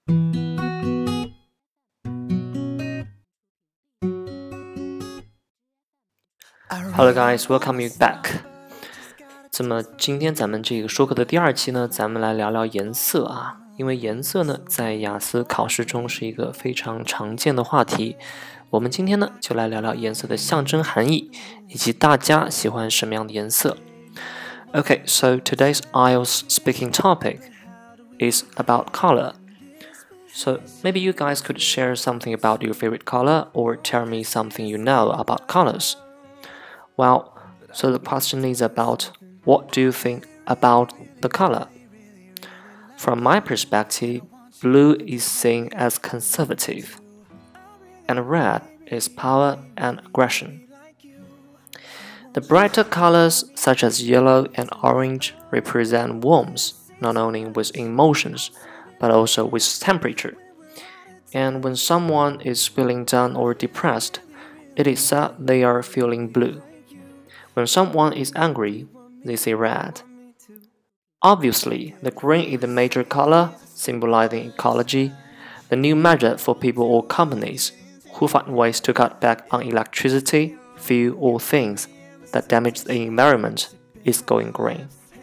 Hello guys, welcome you back. 那么今天咱们这个说课的第2期呢，咱们来聊聊颜色啊。因为颜色呢，在雅思考试中是一个非常常见的话题。我们今天呢，就来聊聊颜色的象征含义，以及大家喜欢什么样的颜色。Okay, so today's IELTS speaking topic is about color. So maybe you guys could share something about your favorite color or tell me something you know about colors.Well, so the question is about what do you think about the color? From my perspective, blue is seen as conservative, and red is power and aggression. The brighter colors, such as yellow and orange, represent warmth, not only with emotions, but also with temperature. And when someone is feeling down or depressed, it is said they are feeling blue.When someone is angry, they say red. Obviously, the green is the major color, symbolizing ecology, the new measure for people or companies who find ways to cut back on electricity, fuel, or things that damage the environment is going green.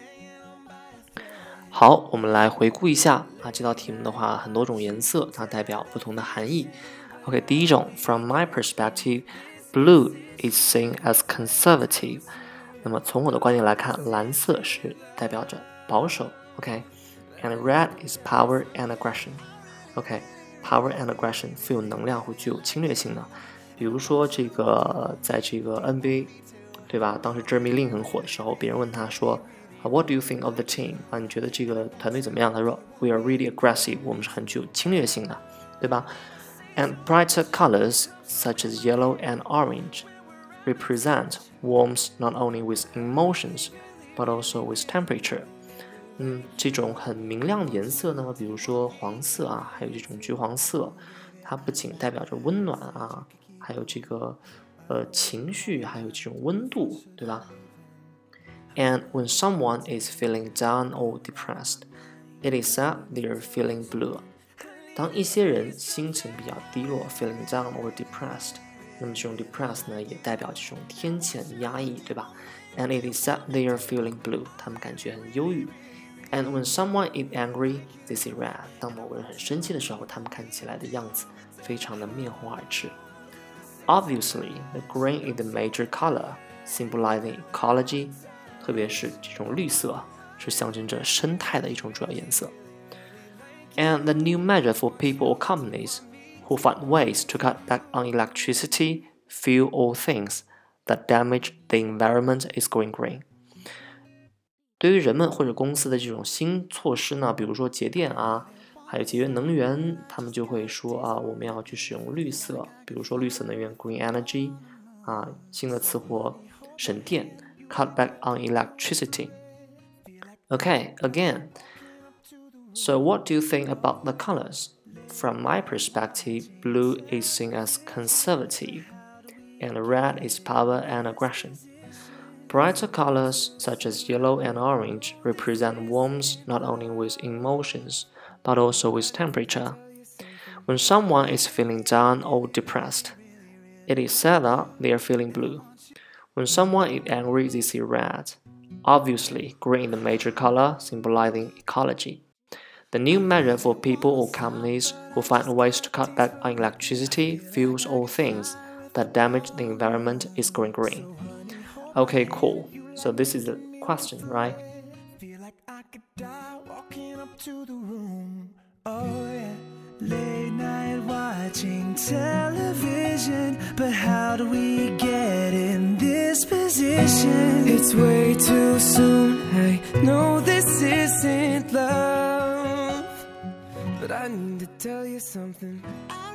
好，我们来回顾一下啊，这道题目的话，很多种颜色，它代表不同的含义。OK， 第一种 ，From my perspective, blue.is seen as conservative. 那么从我的观点来看，蓝色是代表着保守 OK And red is power and aggression OK Power and aggression 富有能量或具有侵略性的。比如说这个在这个 NBA 对吧，当时 Jeremy Lin 很火的时候，别人问他说What do you think of the team 啊，你觉得这个团队怎么样？他说 We are really aggressive 我们是很具有侵略性的，对吧？ And brighter colors such as yellow and orange represent warmth not only with emotions, but also with temperature. 这种很明亮的颜色呢，比如说黄色啊，还有这种橘黄色，它不仅代表着温暖啊，还有这个情绪，还有这种温度，对吧？ And when someone is feeling down or depressed, it is said they are feeling blue. 当一些人心情比较低落 feeling down or depressed，那么这种 depressed 呢，也代表这种天气很压抑，对吧？ And it is said they are feeling blue， 他们感觉很忧郁。And when someone is angry, they see red。当某个人很生气的时候，他们看起来的样子非常的面红耳赤。Obviously, the green is the major color, symbolizing ecology， 特别是这种绿色是象征着生态的一种主要颜色。And the new measure for people or companies.who find ways to cut back on electricity, fuel, or things that damage the environment is going green. 对于人们或者公司的这种新措施呢，比如说节电啊，还有节约能源，他们就会说啊，我们要去使用绿色，比如说绿色能源 （green energy） 啊，新的词汇省电 （cut back on electricity）。Okay, again. So what do you think about the colors?From my perspective, blue is seen as conservative, and red is power and aggression. Brighter colors, such as yellow and orange, represent warmth not only with emotions, but also with temperature. When someone is feeling down or depressed, it is said that they are feeling blue. When someone is angry, they see red. Obviously, green is the major color, symbolizing ecology.The new measure for people or companies who find ways to cut back on electricity, fuels, or things that damage the environment is going green. Okay, cool. So this is the question, right? Feel like I could die walking up to the room. Oh yeah. Late night watching television, but how do we get in this position? It's way too soon. I know this isn't love.But I need to tell you something.